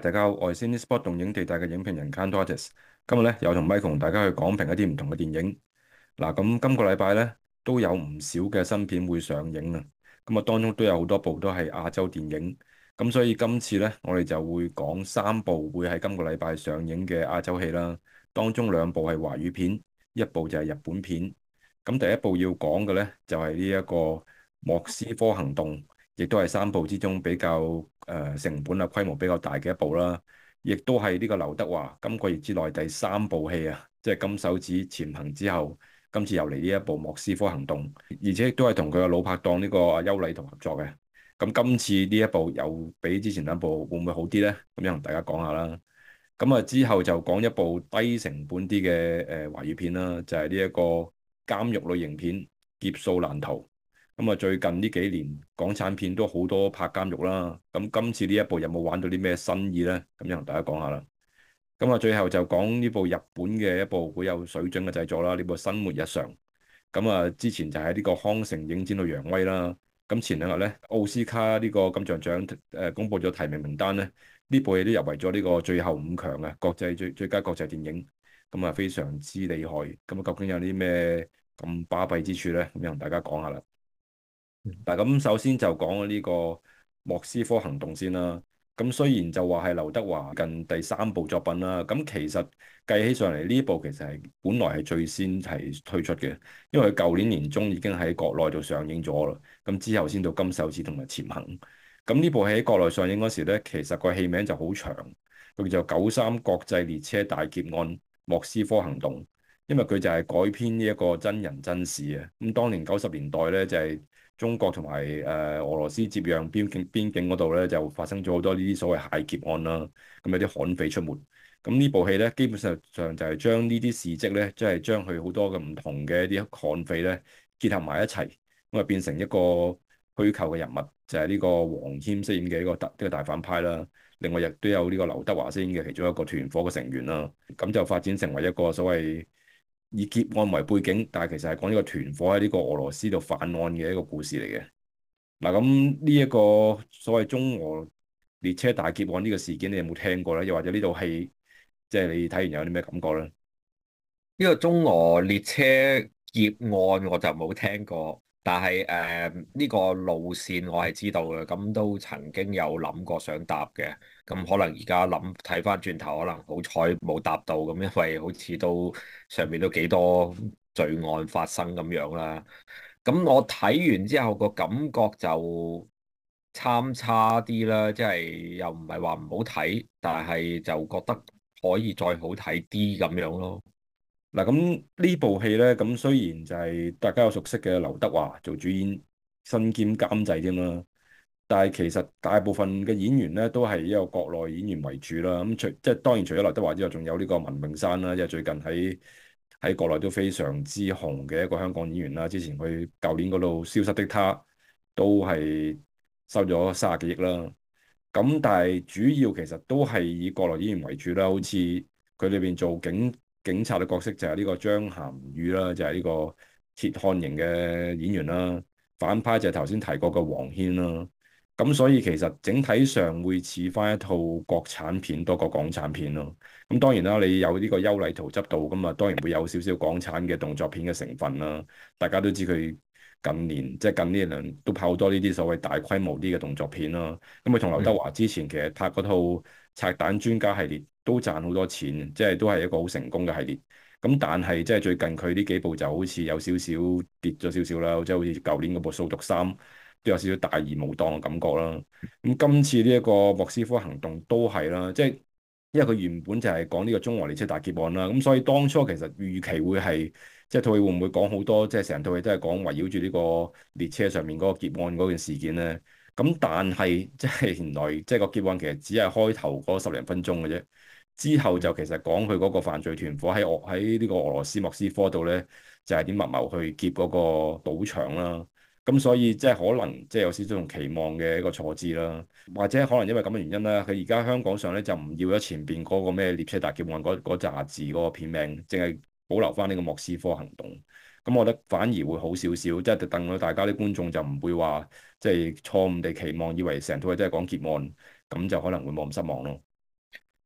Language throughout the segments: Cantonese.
大家好，我係 Cinespot 動映地帶嘅影評人 Kantorates。今日咧又同 Michael 同大家去講評一啲唔同嘅電影。嗱，咁今個禮拜咧都有唔少嘅新片會上映啊。咁啊，當中都有好多部都係亞洲電影。咁所以今次咧，我哋就會講3部會喺今個禮拜上映嘅亞洲戲啦。當中2部係華語片，一部就係日本片。咁第一部要講嘅咧就係呢一個莫斯科行動。亦都係3部之中比較成本啊規模比較大嘅一部啦，亦都係呢個劉德華今個月之內第3部戲啊，即係金手指潛行之後，今次又嚟呢一部莫斯科行動，而且亦都係同佢嘅老拍檔呢個阿邱禮濤合作嘅。咁今次呢一部又比之前2部會唔會好啲呢？咁樣同大家講下啦。咁啊之後就講一部低成本啲嘅華語片啦，就係呢一個監獄類型片《劫數難逃》。咁啊，最近呢幾年港產片都好多拍監獄啦。咁今次呢一部有冇玩到啲咩新意呢？咁樣同大家講下啦。咁啊，最後就講呢部日本嘅一部好有水準嘅製作啦。呢部《生活日常》。咁啊，之前就喺呢個康城影展度揚威啦。咁前2日呢，奧斯卡呢個金像獎公佈咗提名名單呢，呢部戲都入圍咗呢個最後5強嘅國際最佳國際電影。咁啊，非常之厲害。咁啊，究竟有啲咩咁巴閉之處呢？咁樣同大家講下啦。嗱，咁首先就講呢個莫斯科行動先啦。咁雖然就話係劉德華近第3部作品啦，咁其實計起上嚟呢部其實係本來係最先係推出嘅，因為佢舊年年中已經喺國內度上映咗啦。咁之後先到金手指同埋潛行。咁呢部戲喺國內上映嗰時咧，其實個戲名就好長，佢叫做《93國際列車大劫案莫斯科行動》，因為佢就係改編呢一個真人真事啊。咁當年90年代咧就係中國同埋俄羅斯接壤邊境嗰度咧，就發生咗好多呢啲所謂械劫案啦。咁有啲悍匪出沒。咁呢部戲咧，基本上就係將呢啲事蹟咧，即係將佢好多嘅唔同嘅一啲悍匪咧結合埋一齊，咁啊變成一個虛構嘅人物，就係呢個黃謙飾演嘅呢個大反派啦。另外亦都有呢個劉德華飾演嘅其中一個團伙嘅成員啦。咁就發展成為一個所謂以劫案為背景，但係其實係講呢個團伙喺呢個俄羅斯度犯案嘅一個故事嚟嘅。嗱，咁呢一個所謂中俄列車大劫案呢個事件，你有冇聽過咧？又或者呢套戲，即係你睇完有啲咩感覺咧？ 呢個中俄列車劫案我就冇聽過，但係呢個路線我係知道嘅，咁都曾經有諗過想搭嘅，咁可能而家睇翻轉頭，可能好彩冇搭到咁，因為好似都上面都幾多罪案發生咁樣啦。咁我睇完之後個感覺就參差啲啦，即係又唔係話唔好睇，但係就覺得可以再好睇啲咁樣咯。 嗱，咁呢部戲咧，咁雖然就係大家有熟悉嘅劉德華做主演，身兼監製添啦，但係其實大部分嘅演員咧都係一個國內演員為主啦。咁即係當然除咗劉德華之外，仲有呢個文詠珊啦，即係最近喺國內都非常之紅嘅一個香港演員啦。之前佢舊年嗰度《消失的她》都係收咗30幾億啦。咁但係主要其實都係以國內演員為主啦，好似佢裏邊做警察嘅角色就係呢個張涵予啦，就係呢個鐵漢型嘅演員啦。反派就係頭先提過嘅黃軒啦。咁所以其實整體上會似翻一套國產片多過港產片咯。咁當然啦，你有呢個邱禮濤執導，咁啊當然會有少少港產嘅動作片嘅成分啦。大家都知佢近年即係近呢一兩都拍好多呢啲所謂大規模啲嘅動作片啦。咁佢同劉德華之前其實拍嗰套拆彈專家系列都賺好多錢，即係都係一個好成功嘅系列。咁但係即係最近佢呢幾部就好似有少少跌咗少少啦，即係好似舊年嗰部《掃毒3》都有少少大義無當嘅感覺啦。咁今次呢一個莫斯科行動都係啦，即係因為佢原本就係講呢個中俄列車大劫案啦，咁所以當初其實預期會係即係套戲會唔會講好多，即係成套戲都係講圍繞住呢個列車上面嗰個劫案嗰件事件咧。咁但係即係原來即係個劫案其實只係開頭嗰10零分鐘嘅啫，之後就其實講佢嗰個犯罪團伙喺呢個俄羅斯莫斯科度咧，就係點密謀去劫嗰個賭場啦。咁所以即係可能即係有少少同期望嘅一個錯置啦，或者可能因為咁嘅原因啦，佢而家香港上咧就唔要咗前邊嗰個咩列車大劫案嗰扎字嗰個片名，淨係保留翻呢個莫斯科行動。咁我覺得反而會好少少，即係等到大家啲觀眾就唔會話即係錯誤地期望，以為成套戲都係講劫案，咁就可能會冇咁失望咯。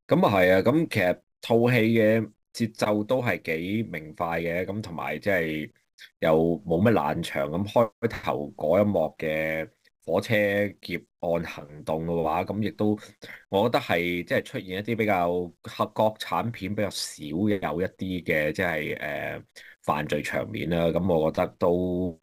咁啊係啊，咁其實套戲嘅節奏都係幾明快嘅，咁同埋即係又冇乜冷場，咁開頭嗰一幕嘅火車劫案行動嘅話，咁亦都我覺得係即係出現一啲比較黑國產片比較少有一啲嘅即係犯罪場面啦，咁我覺得都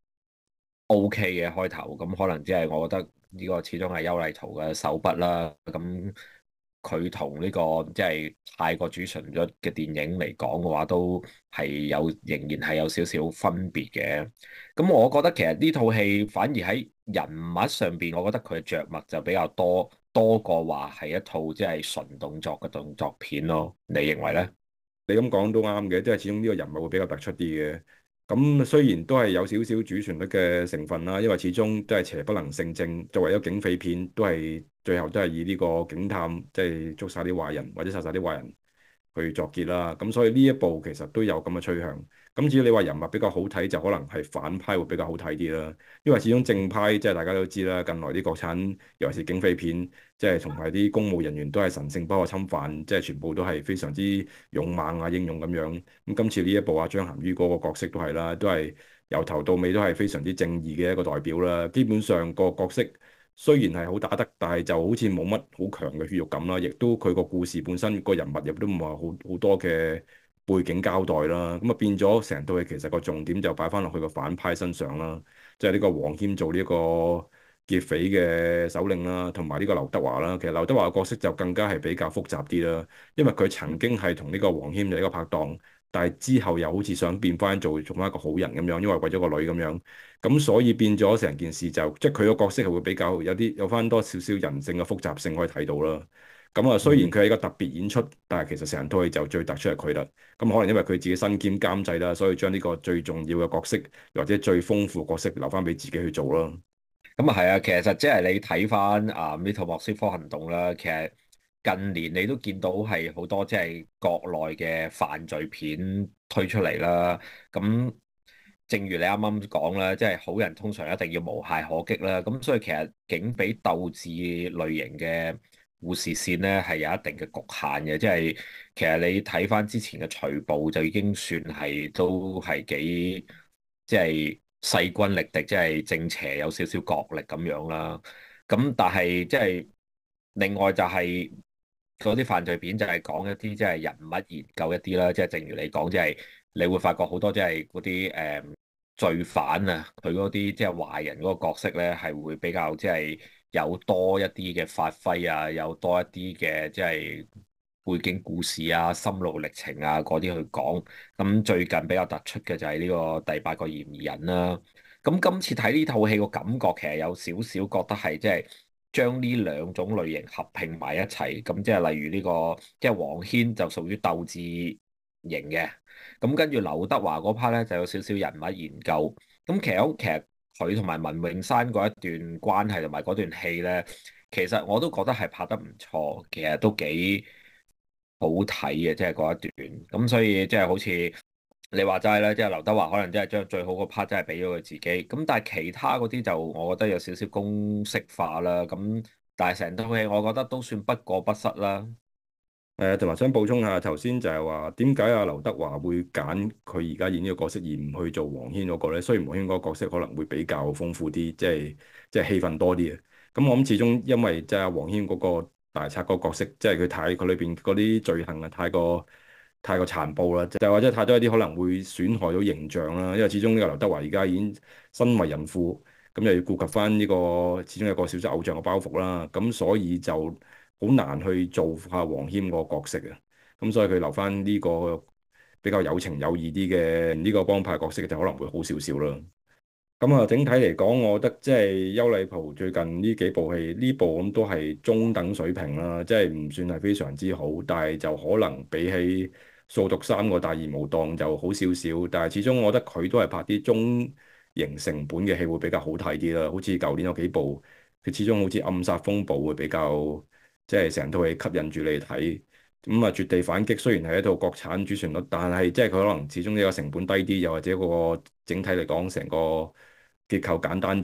OK 嘅開頭，咁可能即係我覺得呢個始終係邱禮濤嘅手筆啦，咁佢同呢個即係泰國主旋律嘅電影嚟講嘅話，都係仍然係有少少分別嘅。咁我覺得其實呢套戲反而喺人物上邊，我覺得佢嘅着墨就比較多過話係一套即係純動作嘅動作片咯。你認為呢？ 你咁講都啱嘅，即係始終呢個人物會比較突出啲嘅。咁雖然都係有少少主旋律嘅成分啦，因為始終都係邪不能勝正。作為一個警匪片，都係最後都係以呢個警探即係捉晒啲壞人或者殺晒啲壞人去作結啦。咁所以呢一部其實都有咁嘅趨向。咁至於你話人物比較好睇，就可能係反派會比較好睇啲啦。因為始終正派即係大家都知啦，近來啲國產尤其是警匪片，即係同埋啲公務人員都係神聖不可侵犯，即係全部都係非常之勇猛啊、英勇咁樣。咁今次呢一部啊，張涵予嗰個角色都係啦，都係由頭到尾都係非常之正義嘅一個代表啦。基本上個角色雖然係好打得，但係就好似冇乜好強嘅血肉感啦，亦都佢個故事本身個人物亦都唔係好多嘅背景交代啦。咁啊變咗成套戲其實個重點就擺翻落去個反派身上啦，即係呢個黃謙做呢個劫匪嘅首領啦，同埋呢個劉德華啦。其實劉德華嘅角色就更加係比較複雜啲啦，因為佢曾經係同呢個黃謙嘅一個拍檔，但係之後又好似想變翻做翻一個好人咁樣，因為為咗個女咁樣。咁所以變咗成件事就即係佢個角色係會比較有翻多少少人性嘅複雜性可以睇到啦。咁啊，雖然佢係一個特別演出，但係其實成套戲就最突出係佢啦。咁可能因為佢自己身兼監製啦，所以將呢個最重要嘅角色或者最豐富嘅角色留翻俾自己去做咯。 咁啊係啊，其實即係你睇翻呢套莫斯科行動啦，其實近年你都見到係好多即係國內嘅犯罪片推出嚟啦。咁正如你啱啱講啦，即係好人通常一定要無懈可擊啦。咁所以其實警匪鬥智類型嘅故事線咧係有一定嘅局限嘅，即係其實你睇翻之前嘅隨步就已經算係都係幾即係勢均力敵，即係正邪有少少角力咁樣啦。咁但係即係另外就係嗰啲犯罪片就係講一啲即係人物研究一啲啦，即係正如你講，即係你會發覺好多即係嗰啲罪犯啊，佢嗰啲即係壞人嗰個角色咧，係會比較即係有多一啲嘅發揮啊，有多一啲嘅即係背景故事啊、心路歷程啊嗰啲去講。咁最近比較突出嘅就係呢個第八個嫌疑人啦。咁今次睇呢套戲個感覺其實有少少覺得係即係將呢兩種類型合併埋一齊。咁即係例如呢個即係黃軒就屬於鬥智型嘅。咁跟住劉德華嗰 part 咧就有少少人物研究。咁其實佢同埋文詠珊嗰一段關係同埋嗰段戲咧，其實我都覺得係拍得唔錯，其實都幾好睇嘅，即係嗰一段。咁所以即係好似你話齋咧，即係劉德華可能真係將最好嗰 part 真係俾咗佢自己。咁但係其他嗰啲就我覺得有少少公式化啦。咁但係成套戲我覺得都算不過不失啦。 同埋想補充下頭先就係話點解阿劉德華會揀佢而家演呢個角色而唔去做黃軒嗰個咧？雖然黃軒嗰個角色可能會比較豐富啲，即係戲份多啲嘅。咁我諗始終因為即係阿黃軒嗰個大賊嗰個角色，即係佢裏邊嗰啲罪行啊，太過殘暴啦，就係或者太多一啲可能會損害到形象啦。因為始終呢個劉德華而家已經身為人父，咁又要顧及翻呢個始終有個少少偶像嘅包袱啦，咁所以就好難去做下黃謙個角色啊。咁所以佢留翻呢個比較有情有義啲嘅呢個幫派角色就可能會好少少啦。咁啊，整體嚟講，我覺得即係邱禮濤最近呢幾部戲，呢部咁都係中等水平啦，即係唔算係非常之好，但係就可能比起掃毒三個大義無當就好少少，但係始終我覺得佢都係拍啲中型成本嘅戲會比較好睇啲啦，好似舊年有幾部，佢始終好似暗殺風暴會比較即係成套戲吸引住你睇。咁啊，絕地反擊雖然係一套國產主旋律，但係即係佢可能始終呢個成本低啲，又或者個整體嚟講成個結構簡單啲，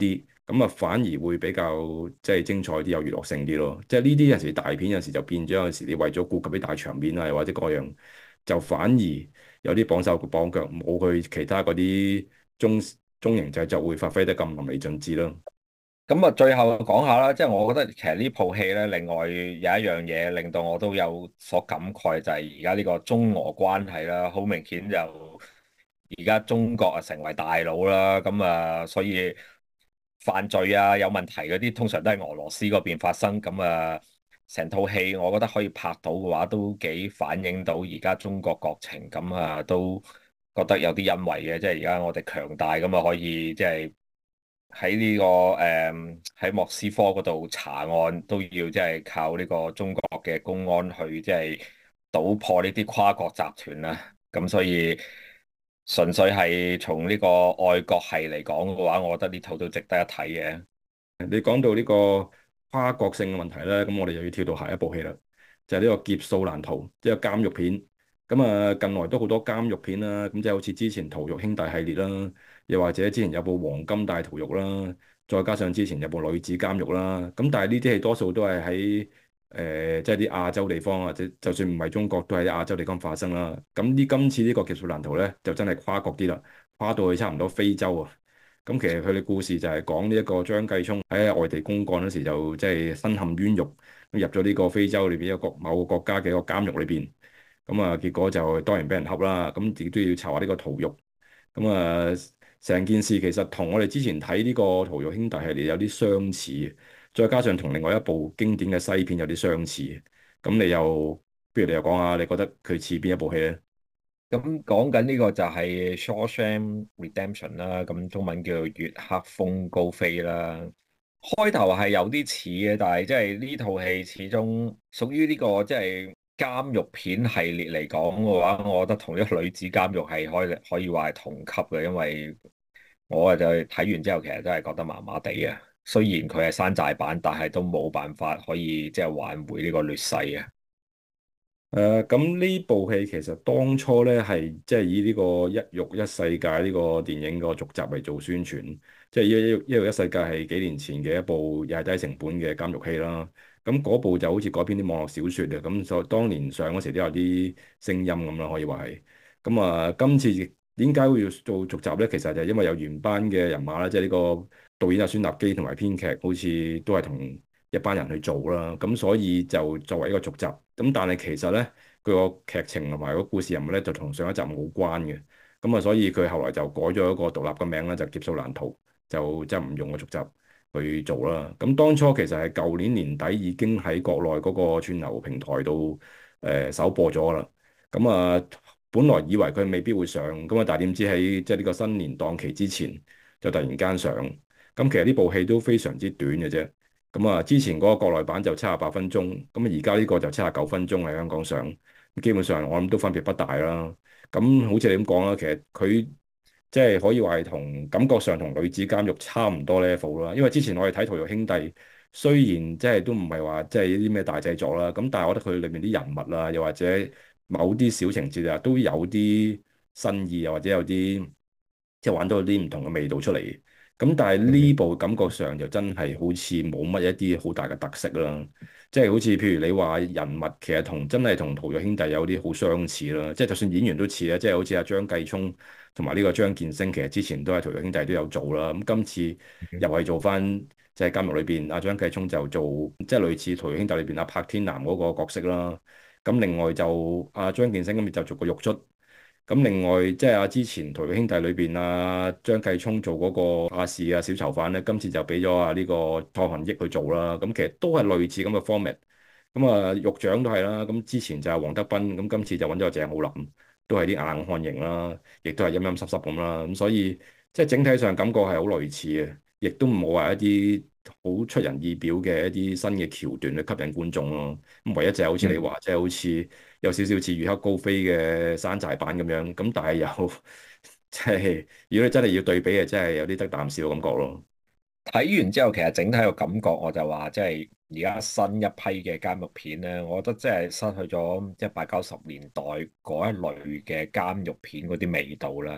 咁啊反而會比較即係精彩啲，有娛樂性啲咯。即係呢啲有時大片有時就變咗，有時你為咗顧及啲大場面啊，又或者各樣，就反而有啲綁手綁腳，冇佢其他嗰啲中型製作會發揮得咁淋漓盡致咯。 咁啊，最後講下啦，即係我覺得其實呢部戲咧，另外有一樣嘢令到我都有所感慨，就係而家呢個中俄關係啦，好明顯就而家中國啊成為大佬啦，咁啊，所以犯罪啊有問題嗰啲，通常都係俄羅斯嗰邊發生，咁啊，成套戲我覺得可以拍到嘅話，都幾反映到而家中國國情，咁啊，都覺得有啲欣慰嘅，即係而家我哋強大咁啊，可以即係。喺呢個喺莫斯科嗰度查案都要即係靠呢個中國嘅公安去即係搗破呢啲跨國集團啦。咁所以純粹係從呢個愛國係嚟講嘅話，我覺得呢套都值得一睇嘅。 你講到呢個跨國性嘅問題咧，咁我哋又要跳到下一部戲啦，就係呢個劫數難逃，即係監獄片。咁啊，近來都好多監獄片啦，咁即係好似之前逃獄兄弟系列啦，又或者之前有部黃金大逃獄啦，再加上之前有部女子監獄啦。咁但係呢啲戲多數都係喺即係啲亞洲地方，或者就算唔係中國，都係啲亞洲地方發生啦。咁今次呢個劫數難逃咧，就真係跨國啲啦，跨到去差唔多非洲啊。咁其實佢哋故事就係講呢一個張繼聰喺外地公幹嗰時就即係身陷冤獄，咁入咗呢個非洲裏邊一個某個國家嘅一個監獄裏邊，咁啊結果就當然俾人恰啦，咁自己都要查下呢個逃獄，咁啊成件事其實同我哋之前睇呢個逃獄兄弟系列有啲相似，再加上同另外一部經典嘅西片有啲相似，咁你又不如你又講下，你覺得佢似邊一部戲咧？ 咁講緊呢個就係《Shawshank Redemption》啦，咁中文叫做《月黑風高飛》啦。開頭係有啲似嘅，但係即係呢套戲始終屬於呢個即係監獄片系列嚟講嘅話，我覺得同一個女子監獄係可以話係同級嘅，因為我就睇完之後其實真係覺得麻麻地啊。雖然佢係山寨版，但係都冇辦法可以即係挽回呢個劣勢啊。 咁呢部戲其實當初咧係即係以呢個《一獄一世界》呢個電影個續集嚟做宣傳，即係《一獄一世界》係幾年前嘅一部又係低成本嘅監獄戲啦。咁嗰部就好似改編啲網絡小説嘅，咁所以當年上嗰時都有啲聲音咁啦，可以話係。咁啊，今次點解會要做續集咧？其實就係因為有原班嘅人馬啦，即係呢個導演阿孫立基同埋編劇好似都係同一班人去做啦，咁所以就作為一個續集，咁但係其實咧佢個劇情同埋個故事人物咧就同上一集冇關嘅，咁啊所以佢後來就改咗一個獨立嘅名啦，就劫數難逃，就即係唔用個續集去做啦。咁當初其實係舊年年底已經喺國內嗰個串流平台度首播咗啦，咁啊本來以為佢未必會上，咁啊但係點知喺即係呢個新年檔期之前就突然間上，咁其實呢部戲都非常之短嘅啫。咁啊，之前嗰個國內版就78分鐘，咁啊而家呢個就79分鐘喺香港上，基本上我諗都分別不大啦。咁好似你咁講啦，其實佢即係可以話係同感覺上同女子監獄差唔多 level 啦。因為之前我哋睇《逃獄兄弟》，雖然即係都唔係話即係啲咩大製作啦，咁但係我覺得佢裏面啲人物啊，又或者某啲小情節啊，都有啲新意，又或者有啲即係玩到啲唔同嘅味道出嚟。咁但係呢部感覺上就真係好似冇乜一啲好大嘅特色啦，即係好似譬如你話人物其實真係同《逃獄兄弟》有啲好相似啦，即係就算演員都似咧，即係好似阿張繼聰同埋呢個張建聲，其實之前都喺《逃獄兄弟》都有做啦，咁今次又係做翻即係監獄裏邊，阿張繼聰就做即係類似《逃獄兄弟》裏邊阿柏天男嗰個角色啦，咁另外就阿張建聲今次就做個獄卒。咁另外即係之前《逃獄兄弟》裏邊張繼聰做嗰個亞視小囚犯咧，今次就俾咗呢個湯漢益去做啦。咁其實都係類似咁嘅 format。咁獄長都係啦。咁之前就係黃德斌，咁今次就揾咗個鄭浩南，都係啲硬漢型啦，亦都係陰陰濕濕咁啦。咁所以即係整體上感覺係好類似嘅，亦都冇話一啲好出人意表嘅一啲新嘅橋段去吸引觀眾咯。咁唯一就係好似你話，即係好似有少少似月黑高飛嘅山寨版咁樣。咁但係又即係如果你真係要對比嘅，真係有啲得啖笑嘅感覺咯。 睇完之後，其實整體個感覺我就話，即係而家新一批嘅監獄片咧，我覺得即係失去咗即係八九十年代嗰一類嘅監獄片嗰啲味道啦。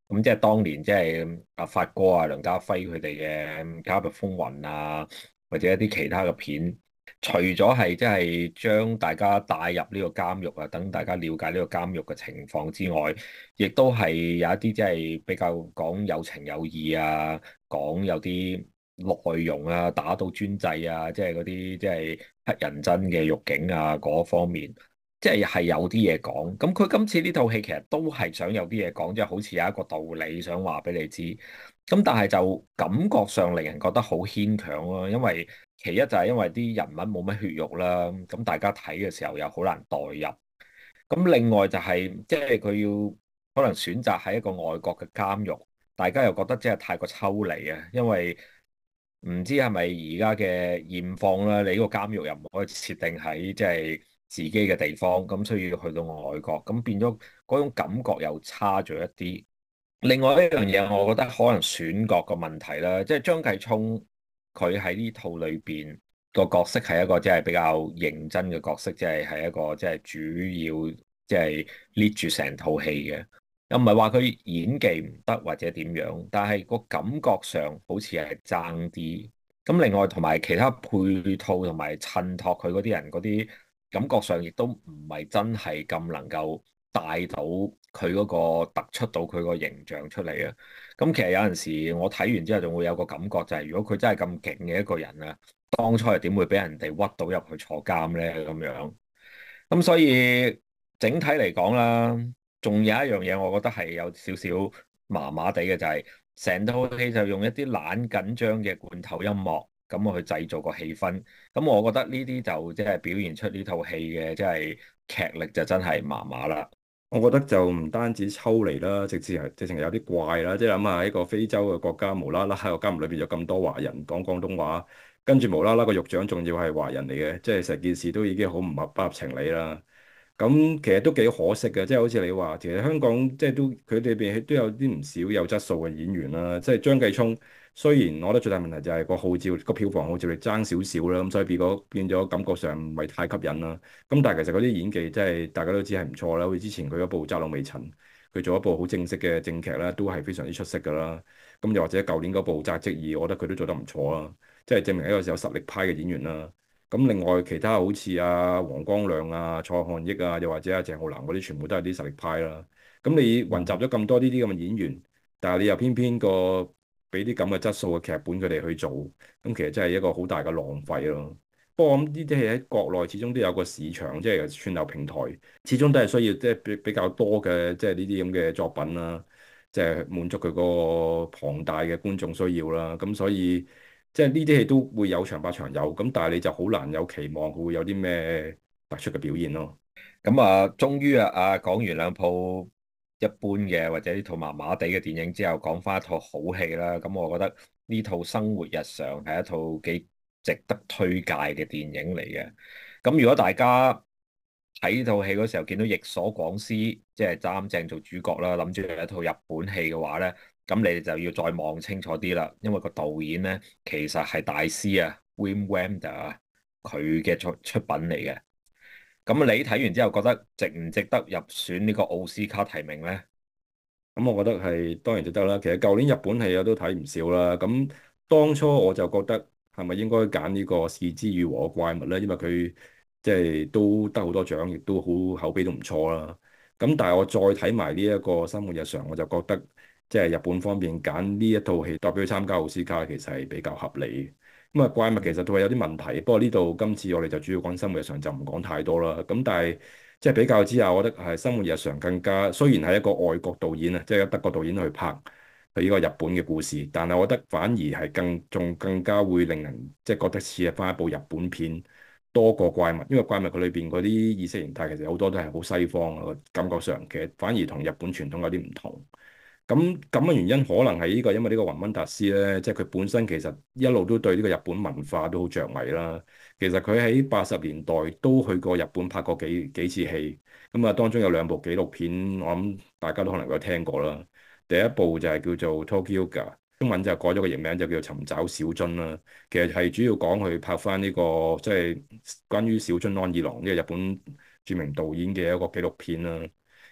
咁即係當年即係阿發哥啊、梁家輝佢哋嘅《監獄風雲》啊，或者一啲其他嘅片，除咗係即係將大家帶入呢個監獄啊，等大家了解呢個監獄嘅情況之外，亦都係有一啲即係比較講有情有義啊，講有啲內容啊，打倒專制啊，即係嗰啲即係黑人憎嘅獄警啊嗰方面。即係有啲嘢講，咁佢今次呢套戲其實都係想有啲嘢講，即係好似有一個道理想話俾你知，咁但係就感覺上令人覺得好牽強咯，因為其一就係因為啲人物冇乜血肉啦，咁大家睇嘅時候又好難代入，咁另外就係即係佢要可能選擇喺一個外國嘅監獄，大家又覺得即係太過抽離啊，因為唔知係咪而家嘅現況啦，你呢個監獄又唔可以設定喺即係自己嘅地方，咁所以要去到外國，咁變咗嗰種感覺又差咗一啲。另外一樣嘢，我覺得可能選角個問題啦，即係張繼聰佢喺呢套裏邊個角色係一個即係比較認真嘅角色，係一個即係主要即係 lead 住成套戲嘅。又唔係話佢演技唔得或者點樣，但係個感覺上好似係爭啲。咁另外同埋其他配套同埋襯托佢嗰啲人嗰啲感覺上，亦都唔係真係咁能夠帶到佢嗰個突出到佢個形象出嚟啊。咁其實有陣時我睇完之後，仲會有個感覺就係，如果佢真係咁勁嘅一個人啊，當初係點會俾人哋屈到入去坐監咧？咁樣。咁所以整體嚟講啦，仲有一樣嘢，我覺得係有少少麻麻地嘅，就係成套戲就用一啲懶緊張嘅罐頭音樂，咁我去製造個氣氛。咁我覺得呢啲就即係表現出呢套戲嘅即係劇力就真係麻麻啦。 我覺得就唔單止抽離啦，直情有啲怪啦。即係諗下一個非洲嘅國家，無啦啦喺個監獄裏邊有咁多華人講廣東話，跟住無啦啦個獄長仲要係華人嚟嘅，即係成件事都已經好唔合不合情理啦。咁其實都幾可惜嘅，即係好似你話，其實香港即係都佢哋邊都有啲唔少有質素嘅演員啦。即係張繼聰，雖然我覺得最大問題就係個號召個票房號召力爭少少啦，咁所以變咗感覺上唔係太吸引啦。咁但係其實嗰啲演技真係大家都知係唔錯啦。好似之前佢嗰部《窄路微塵》，佢做一部好正式嘅正劇啦，都係非常之出色㗎啦。咁又或者舊年嗰部《紮職2》，我覺得佢都做得唔錯啦，即係證明一個有實力派嘅演員啦。咁另外其他好似阿黃光亮啊、蔡漢益啊，又或者阿鄭浩南嗰啲，全部都係啲實力派啦。咁你雲集咗咁多呢啲咁嘅演員，但係你又偏偏俾啲咁嘅質素嘅劇本佢哋去做，咁其實真係一個好大嘅浪費咯。不過我諗呢啲戲喺國內始終都有個市場，即係串流平台，始終都係需要即係比較多嘅即係呢啲咁嘅作品啦，即係滿足佢個龐大嘅觀眾需要啦。咁所以。即係呢啲戲都會有長拍長有，咁但係你就好難有期望佢會有啲咩突出嘅表現咯。 咁啊，終於講完兩套一般嘅或者呢套麻麻地嘅電影之後，講翻一套好戲啦。咁我覺得呢套《生活日常》係一套幾值得推介嘅電影嚟嘅。咁如果大家睇呢套戲嗰時候見到役所廣司即係擔正做主角啦，諗住係一套日本戲嘅話咧，咁你哋就要再望清楚啲啦，因為個導演咧其實係大師啊，Wim Wenders 啊，佢嘅出品嚟嘅。咁你睇完之後覺得值唔值得入選呢個奧斯卡提名呢？ 咁我覺得係當然值得啦。其實舊年日本戲我都睇唔少啦。咁當初我就覺得係咪應該揀呢個是枝裕和嘅怪物咧？因為佢即係都得好多獎，亦都好口碑都唔錯啦。咁但係我再睇埋呢一個生活日常，我就覺得即係日本方面揀呢一套戲代表佢參加奧斯卡，其實係比較合理。咁啊，怪物其實都係有啲問題，不過呢度今次我哋就主要講生活日常，就唔講太多啦。咁但係即係比較之下，我覺得係生活日常更加，雖然係一個外國導演啊，即係德國導演去拍佢呢個日本嘅故事，但係我覺得反而係更加會令人即係覺得似係翻一部日本片多過怪物，因為怪物佢裏邊嗰啲意識形態其實好多都係好西方啊，感覺上其實反而同日本傳統有啲唔同。咁嘅原因可能係呢個，因為呢個雲溫達斯咧，即係佢本身其實一路都對呢個日本文化都好着迷啦。其實佢喺80年代都去過日本拍過幾次戲，咁啊當中有兩部紀錄片，我諗大家都可能有聽過啦。第一部就係叫做 Tokyo，中文就改咗個譯名就叫做尋找小津啦。其實係主要講佢拍翻呢個即係關於小津安二郎呢個日本著名導演嘅一個紀錄片啦。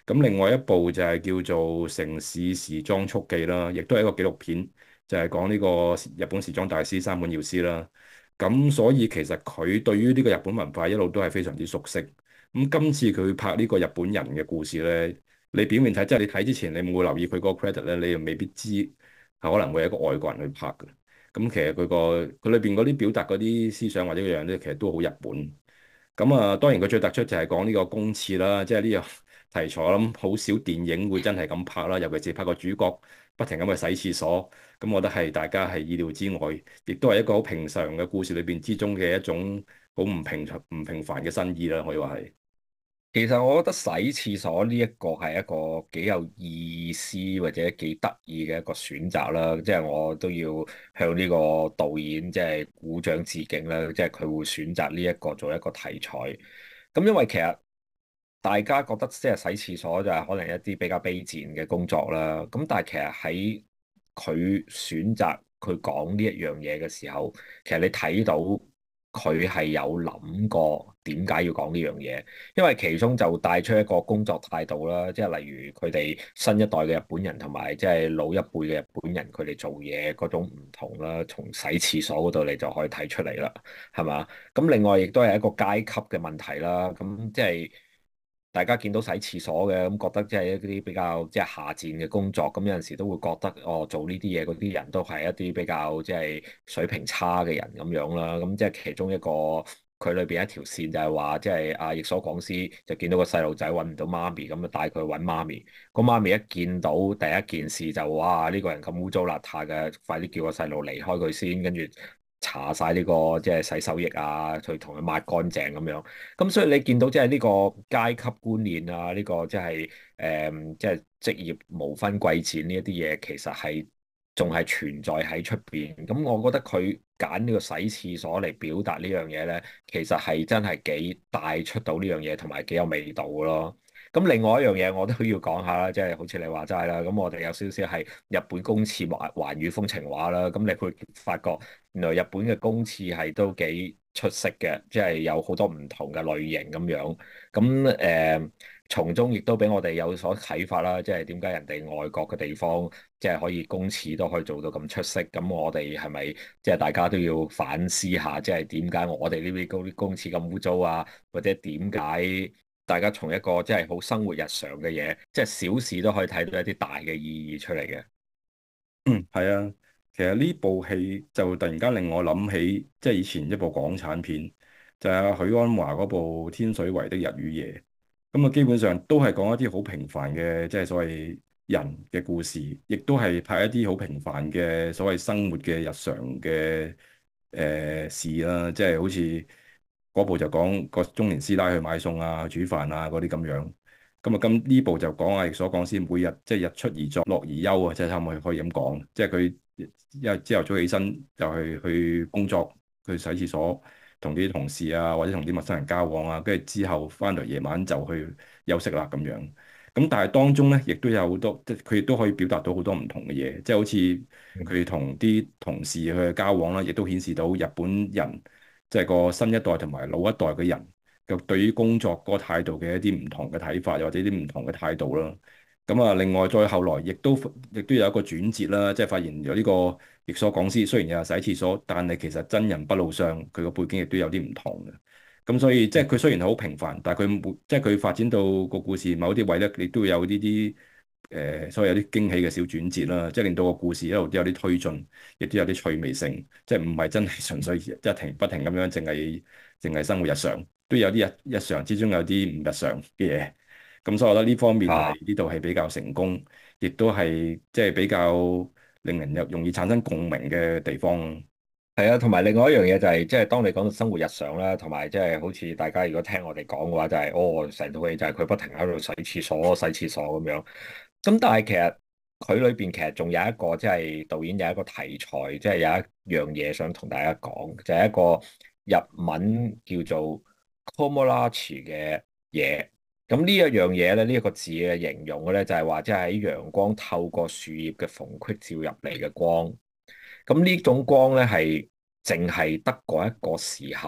咁另外一部就係叫做《城市時裝速記》啦，亦都係一個紀錄片，就係講呢個日本時裝大師山本耀司啦。咁所以其實佢對於呢個日本文化一路都係非常之熟悉。咁今次佢拍呢個日本人嘅故事咧，你表面睇即係你睇之前你冇留意佢嗰個 credit 咧，你又未必知係可能會係一個外國人去拍嘅。咁其實佢裏邊嗰啲表達嗰啲思想或者嗰樣咧，其實都好日本。咁啊，當然佢最突出就係講呢個公廁啦，即係呢個題材，我諗好少電影會真係咁拍啦，尤其是拍個主角不停咁去洗廁所，咁我覺得係大家係意料之外，亦都係一個好平常嘅故事裏邊之中嘅一種好唔平凡嘅新意啦，可以話係。 其實我覺得洗廁所呢一個係一個幾有意思或者幾得意嘅一個選擇啦，即係我都要向呢個導演即係鼓掌致敬啦，即係佢會選擇呢一個做一個題材。咁因為其實大家覺得即係洗廁所就係可能一啲比較卑賤嘅工作啦，咁但係其實喺佢選擇佢講呢一樣嘢嘅時候，其實你睇到佢係有諗過點解要講呢樣嘢，因為其中就帶出一個工作態度啦，即係例如佢哋新一代嘅日本人同埋即係老一輩嘅日本人，佢哋做嘢嗰種唔同啦，從洗廁所嗰度你就可以睇出嚟啦，係嘛？咁另外亦都係一個階級嘅問題啦，咁即係。大家見到洗廁所嘅咁，覺得即係一啲比較即係下賤嘅工作，咁有陣時都會覺得哦，做呢啲嘢嗰啲人都係一啲比較即係水平差嘅人咁樣啦。咁即係其中一個佢裏邊一條線就係話，即係阿役所廣司就見到個細路仔揾唔到媽咪，咁就帶佢去揾媽咪。個媽咪一見到第一件事就哇，呢個人咁污糟邋遢嘅，快啲叫個細路離開佢先，跟住搽晒呢個即係洗手液啊，去同佢抹乾淨咁樣。咁所以你見到即係呢個階級觀念啊，呢個即係即係職業無分貴賤呢一啲嘢，其實係仲係存在喺出邊。咁我覺得佢揀呢個洗廁所嚟表達呢樣嘢咧，其實係真係幾帶出到呢樣嘢，同埋幾有味道咯。咁另外一樣嘢我都要講下啦，即係好似你話齋啦，咁我哋有少少係日本公廁環宇風情畫啦，咁你會發覺原來日本嘅公廁係都幾出色嘅，即係有好多唔同嘅類型咁樣，咁從中亦都俾我哋有所啟發啦，即係點解人哋外國嘅地方即係可以公廁都可以做到咁出色，咁我哋係咪即係大家都要反思下，即係點解我哋呢邊公廁咁污糟啊，或者點解？大家從一個即係好生活日常嘅嘢，即係小事都可以睇到一啲大嘅意義出嚟嘅。 嗯，係啊，其實呢部戲就突然間令我諗起，即係以前一部港產片，就係阿許鞍華嗰部《天水圍的日與夜》。咁啊，基本上都係講一啲好平凡嘅，即係所謂人嘅故事，亦都係拍一啲好平凡嘅所謂生活嘅日常嘅事啦。即係好似嗰部就講個中年師奶去買餸啊、煮飯啊嗰啲咁樣。咁啊，咁呢部就講阿役所廣司每日即係日出而作，落而休啊，即係差唔多可以咁講。即係佢因為朝頭早起身就去工作，去洗廁所，同啲同事啊或者同啲陌生人交往啊，跟住之後翻嚟夜晚就去休息啦咁樣。咁但係當中咧，亦都有好多，即係佢亦都可以表達到好多唔同嘅嘢，即係好似佢同啲同事去交往啦，亦都顯示到日本人即係個新一代同埋老一代嘅人。就對於工作嗰個態度嘅一啲唔同嘅睇法，又或者啲唔同嘅態度啦。咁啊，另外再後來亦都有一個轉折啦，即係發現有呢個役所廣司雖然有洗廁所，但係其實真人不露相，佢個背景亦都有啲唔同嘅。咁所以即係佢雖然好平凡，但係即係佢發展到個故事某啲位咧，亦都會有呢啲所謂有啲驚喜嘅小轉折啦，即係令到個故事一路都有啲推進，亦都有啲趣味性，即係唔係真係純粹一停不停咁樣，淨係生活日常。都有啲日常之中有啲唔日常嘅嘢，咁所以我覺得呢方面啊， 係呢度係比較成功，亦都係即係比較令人容易產生共鳴嘅地方。 係啊，同埋另外一樣嘢就係、即係當你講到生活日常啦，同埋即係好似大家如果聽我哋講嘅話，就係、哦，成套戲就係佢不停喺度洗廁所咁樣。咁但係其實佢裏邊其實仲有一個即係導演有一個題材，即係有一樣嘢想同大家講，就係一個日文叫做 Komorachi 嘅嘢。咁呢一樣嘢咧，呢一個字嘅形容嘅咧，就係話即係喺陽光透過樹葉嘅縫隙照入嚟嘅光。咁呢種光咧係淨係得嗰一個時候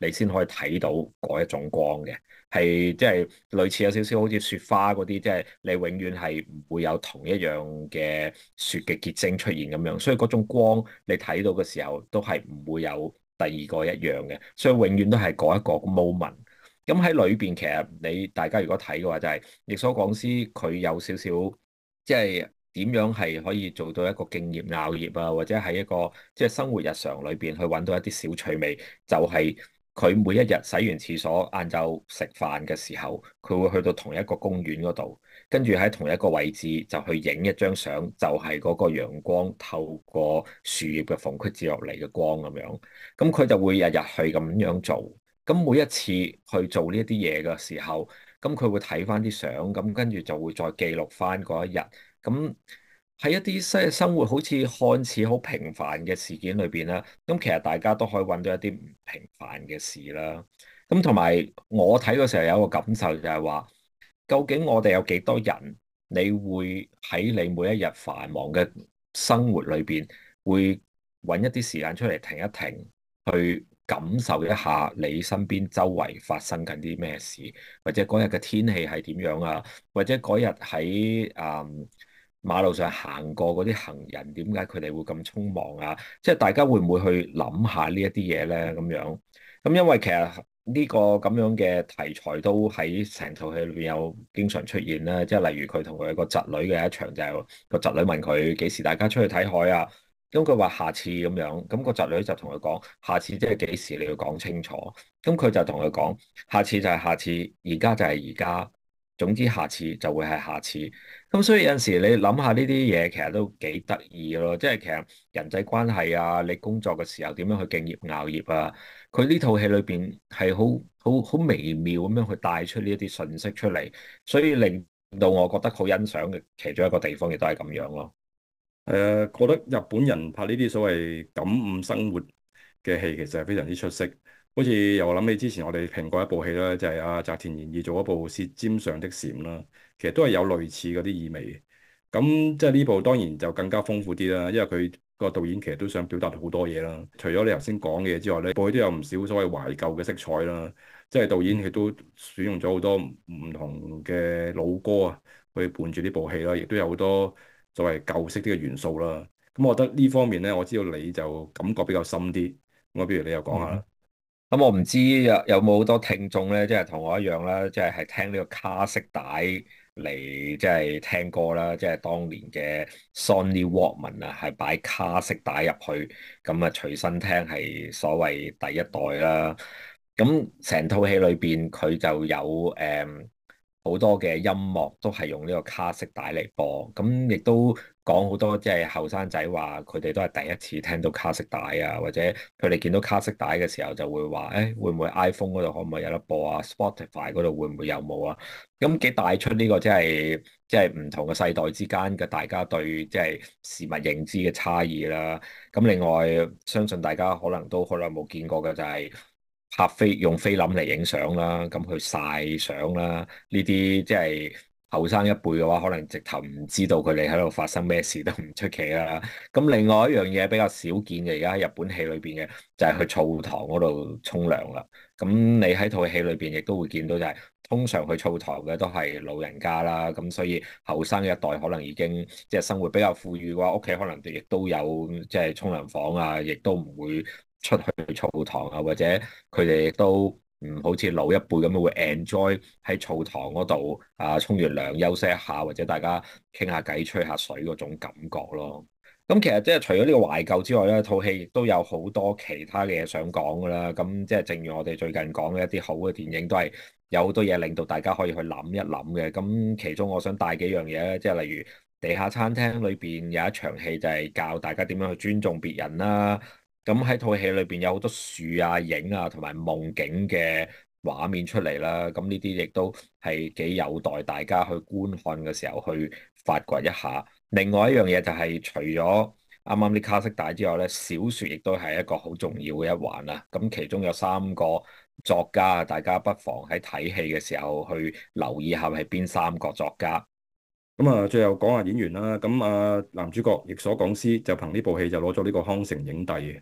你先可以睇到嗰一種光嘅，係即係類似有少少好似雪花嗰啲，即係你永遠係唔會有同一樣嘅雪嘅結晶出現咁樣，所以嗰種光你睇到嘅時候都係唔會有第二個一樣嘅，所以永遠都係嗰一個 moment。咁喺裏邊其實你大家如果睇嘅話，就係役所廣司佢有少少即係點樣係可以做到一個敬業樂業啊，或者係一個即係生活日常裏邊去揾到一啲小趣味，就係佢每一日洗完廁所，晏晝食飯嘅時候，佢會去到同一個公園嗰度，跟住喺同一個位置就去影一張相，就係嗰個陽光透過樹葉嘅縫隙照落嚟嘅光咁樣，咁佢就會日日去咁樣做。咁每一次去做呢一啲嘢嘅時候，咁佢會睇翻啲相，咁跟住就會再記錄翻嗰一日。咁喺一啲生活好似看似好平凡嘅事件裏邊啦，咁其實大家都可以揾到一啲唔平凡嘅事啦。咁同埋我睇嘅時候有一個感受就係話，究竟我哋有幾多人，你會喺你每一日繁忙嘅生活裏邊，會揾一啲時間出嚟停一停，去感受一下你身邊周圍發生緊啲咩事，或者嗰日嘅天氣係點樣啊？或者嗰日喺馬路上行過嗰啲行人，點解佢哋會咁匆忙啊？即係大家會唔會去諗下呢一啲嘢咧？咁樣咁，因為其實呢個咁樣嘅題材都喺成套戲裏邊有經常出現啦。即係例如佢同佢個侄女嘅一場，就係個侄女問佢幾時大家出去睇海啊？咁佢話下次咁樣，咁個侄女就同佢講下次即係幾時，你要講清楚。咁佢就同佢講下次就係下次，而家就係而家，總之下次就會係下次。咁所以有陣時你諗下呢啲嘢，其實都幾得意咯。即係其實人際關係啊，你工作嘅時候點樣去敬業樂業啊？佢呢套戲裏邊係好微妙咁樣去帶出呢一啲信息出嚟，所以令到我覺得好欣賞嘅其中一個地方亦都係咁樣咯。 覺得日本人拍呢啲所謂感悟生活嘅戲，其實係非常之出色。好似又諗起之前我哋評過一部戲啦，就係阿澤田研二做一部《舌尖上的蟬》啦，其實都係有類似嗰啲意味。咁即係呢部當然就更加豐富啲啦，因為佢個導演其實都想表達好多嘢啦。除咗你頭先講嘅嘢之外咧，部戲都有唔少所謂懷舊嘅色彩啦。即係導演佢都選用咗好多唔同嘅老歌啊，去伴住呢部戲啦，亦都有好多作為舊式啲嘅元素啦，咁我覺得呢方面咧，我知道你就感覺比較深啲，咁不如你又講下啦。 咁我唔知有冇好多聽眾咧，即係同我一樣啦，即係聽呢個卡式帶嚟，即係聽歌啦，即係當年嘅 Sony Walkman 啊，係擺卡式帶入去，咁啊隨身聽係所謂第一代啦。咁成套戲裏邊佢就有好多嘅音樂都係用呢個卡式帶嚟播，咁亦都講好多即係後生仔話佢哋都係第一次聽到卡式帶啊，或者佢哋見到卡式帶嘅時候就會話，誒會唔會 iPhone 嗰度可唔可以有得播啊？Spotify 嗰度會唔會有冇啊？咁幾帶出呢個即係唔同嘅世代之間嘅大家對即係事物認知嘅差異啦。咁另外相信大家可能都好耐冇見過嘅就係用菲林嚟影相啦，咁去曬相啦，呢啲即係後生一輩嘅話，可能直頭唔知道佢哋喺度發生咩事都唔出奇啦。咁另外一樣嘢比較少見嘅，而家喺日本戲裏邊嘅就係去澡堂嗰度沖涼啦。咁你喺套戲裏邊亦都會見到，就係通常去澡堂嘅都係老人家啦。咁所以後生一代可能已經即係生活比較富裕嘅話，屋企可能亦都有即係沖涼房啊，亦都唔會出去澡堂啊，或者佢哋亦都唔好似老一輩咁樣會 enjoy 喺澡堂嗰度啊，沖完涼休息一下，或者大家傾下偈、吹下水嗰種感覺咯。咁其實即係除咗呢個懷舊之外咧，套戲亦都有好多其他嘅嘢想講噶啦。咁即係正如我哋最近講嘅一啲好嘅電影，都係有好多嘢令到大家可以去諗一諗嘅。咁其中我想帶幾樣嘢咧，即係例如地下餐廳裏邊有一場戲就係教大家點樣去尊重別人啦。咁喺套戲裏邊有好多樹啊、影啊同埋夢境嘅畫面出嚟啦。咁呢啲亦都係幾有待大家去觀看嘅時候去發掘一下。另外一樣嘢就係除咗啱啱啲卡式帶之外咧，小説亦都係一個好重要嘅一環啦。咁其中有三個作家，大家不妨喺睇戲嘅時候去留意下係邊三個作家。 咁啊，最後講下演員啦。咁啊，男主角役所廣司就憑呢部戲就攞咗呢個康城影帝嘅。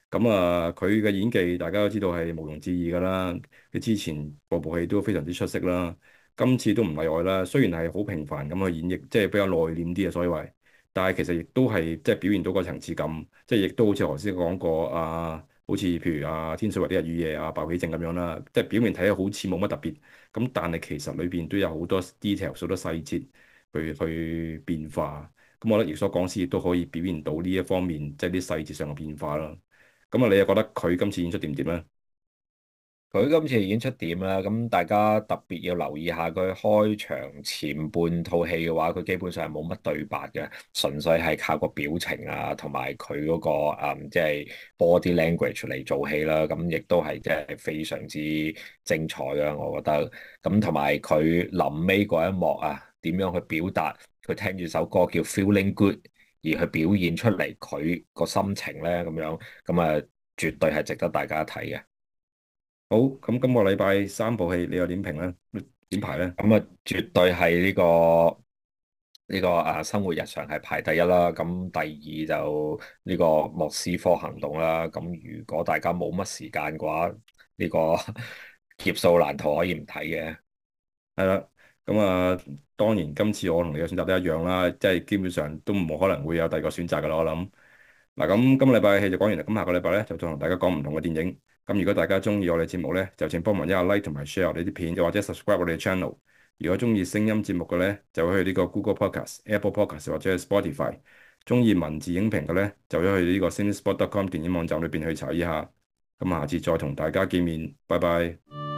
咁啊，佢嘅演技大家都知道係毋庸置疑㗎啦。佢之前部戲都非常之出色啦，今次都唔例外啦。雖然係好平凡咁去演繹，即係比較內斂啲嘅所謂，但係其實亦都係即係表現到個層次感，即係亦都好似頭先講過啊，好似譬如啊《天水圍的日與夜》啊《鮑起靜》咁樣啦，即係表面睇好似冇乜特別，咁但係其實裏邊都有好多 detail 好多細節去變化。咁我覺得役所廣司亦都可以表現到呢一方面，即係啲細節上嘅變化啦。咁啊，你又覺得佢今次演出點咧？ 佢今次演出點啦，咁大家特別要留意下佢開場前半套戲嘅話，佢基本上係冇乜對白嘅，純粹係靠個表情啊，同埋佢嗰個即係 body language 嚟做戲啦。咁亦都係即係非常之精彩啊，我覺得。咁同埋佢臨尾嗰一幕啊，點樣去表達佢聽住首歌叫 Feeling Good，而去表現出嚟佢個心情咧，咁樣咁啊，絕對係值得大家睇嘅。 好，咁今個禮拜3部戲你又點評咧？點排咧？ 咁啊，絕對係呢個生活日常係排第一啦。咁第二就呢個莫斯科行動啦。咁如果大家冇乜時間嘅話，呢個劫數難逃可以唔睇嘅。 係啦，咁啊，當然今次我同你嘅選擇都一樣啦，即係基本上都冇可能會有第二個選擇噶啦，我諗。嗱，咁今個禮拜嘅戲就講完啦，咁下個禮拜咧就再同大家講唔同嘅電影。咁如果大家中意我哋節目咧，就請幫忙一下 like 同埋 share 我哋啲片，又或者 subscribe 我哋嘅 channel。如果中意聲音節目嘅咧，就會去呢個 Google Podcast、Apple Podcast 或者係 Spotify。中意文字影評嘅咧，就會去呢個 Cinespot.com 電影網站裏邊去查一下。咁下次再同大家見面，拜拜。